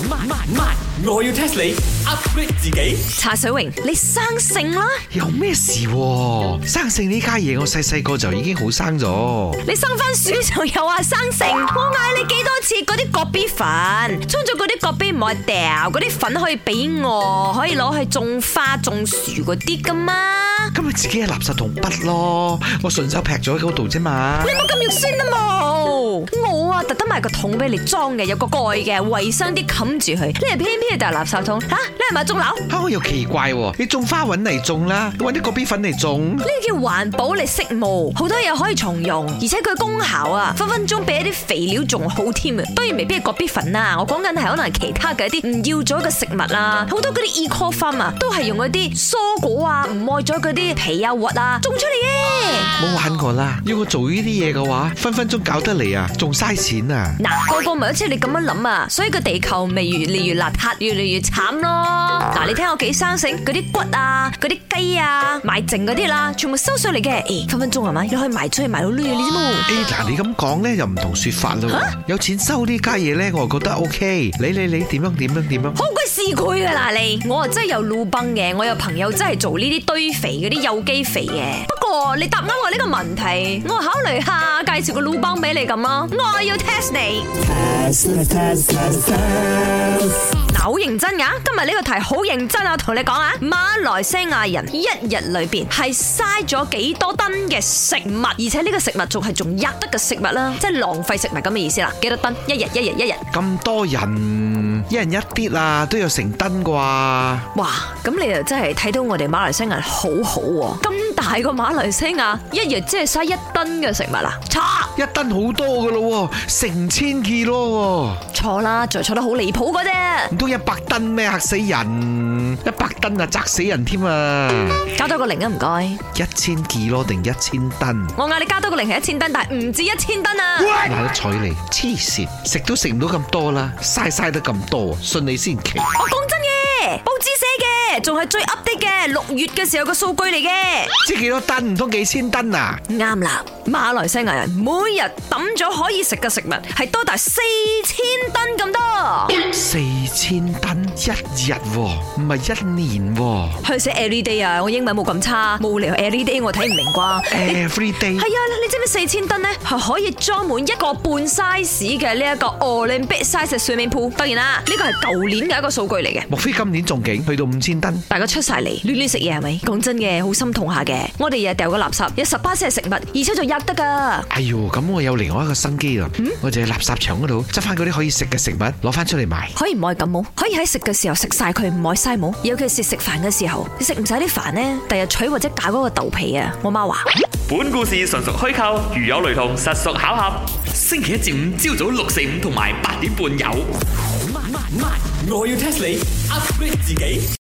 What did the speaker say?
我要 test 你 upgrade 自己。 茶水榮，你生性啦！ 有咩事喎？生性呢家嘢，我細個就已經好生咗。 你生番薯就又話生性，我嗌你幾多次嗰啲葛比粉，沖咗嗰啲葛比唔好掉，嗰啲粉可以俾我，可以攞去種花種樹嗰啲噶嘛？ 咁咪自己係垃圾桶筆咯，我順手劈咗喺嗰度啫嘛。 你冇咁肉酸啊冇！我啊特登買個桶俾你裝嘅，有個蓋嘅，衛生啲冚住佢。你係偏偏就係垃圾桶吓？你係咪種樓？ 吓，我又奇怪喎，你種花搵嚟種啦，搵啲葛比粉嚟種。 呢叫環保嚟識務，好多嘢可以重用，而且佢功效啊，分分鐘比一啲肥料仲好添啊！當然未必係葛比粉啊，我講緊係可能係其他嘅一啲唔要咗嘅食物啊，好多嗰啲 eco farm 啊，都係用嗰啲蔬果啊，唔愛咗嗰啲皮啊核啊種出嚟嘅。 冇玩過啦，要我做呢啲嘢嘅話，分分鐘搞得嚟啊，仲嘥錢啊！ 嗱，個個咪好似你咁樣諗啊，所以個地球咪越嚟越邋遢，越嚟越慘咯。嗱，你聽我幾生性，嗰啲骨啊，嗰啲雞啊，賣剩嗰啲啦，全部收上嚟嘅，分分鐘係咪？你可以賣出去賣到呢啲啫嘛。 嗱，你咁講咧又唔同說法咯。有錢收呢家嘢咧，我就覺得 OK。你點樣？ 好鬼市儈噶啦你！我啊真係有路崩嘅，我有朋友真係做呢啲堆肥嗰啲有機肥嘅。不過你答啱我呢個問題，我考慮下介紹個路崩俾你咁咯。我要 test 你。嗱，好認真噶，今日呢個題好認真啊！同你講啊，馬來西亞人一日裏邊係嘥咗幾多噸嘅食物，而且呢個食物仲係仲吔得嘅食物啦，即係浪費食物咁嘅意思啦。幾多噸？一日。 咁多人，一人一啲啊，都有成噸啩。 哇！咁你又真係睇到我哋馬來西亞人好好喎，咁大個馬來西亞一日即係嘥1噸嘅食物啦，錯 ！1噸好多噶咯，成千2咯。 錯啦，仲錯得好離譜嗰啫。 唔通100噸咩？嚇死人！100噸啊，砸死人添啊！ 加多個零啊，唔該。 1000 kilo 定1000噸？ 我嗌你加多個零係1000噸，但係唔止1000噸啊！ 嗱，得彩你黐線，食都食唔到咁多啦，嘥得咁多，信你先奇。 我講真嘅，報紙寫嘅，仲係最 update 嘅6月嘅時候嘅數據嚟嘅。 知幾多噸？唔通幾千噸啊？ 啱啦，馬來西亞人每日抌咗可以食嘅食物係多達4000噸咁多。 4000噸一日喎，唔係1年喎。 佢寫 every day 啊，我英文冇咁差，冇理由 every day 我睇唔明啩。 Every day 係啊，你知唔知4000噸咧係可以裝滿1個半 size 嘅呢一個 Olympic size 嘅 swimming pool？當然啦，呢個係舊年嘅一個數據嚟嘅。 莫非今年仲勁，去到5000噸？ 大家出晒嚟亂食嘢係咪？講真嘅，好心痛下嘅。我哋日日掉個垃圾，有18係食物，而且仲吔得噶。 哎喲，咁我有另外一個新機啦。我就喺垃圾場嗰度執翻嗰啲可以食嘅食物，攞翻出嚟賣。 可以唔可以咁冇？可以喺食嘅時候食晒佢，唔可以嘥冇。尤其是食飯嘅時候，你食唔晒啲飯呢，第日取或者搞嗰個豆皮啊。我媽話： 本故事純屬虛構，如有雷同，實屬巧合。星期一至五朝早6、4、5同埋8點半有。我要 test 你 upgrade 自己。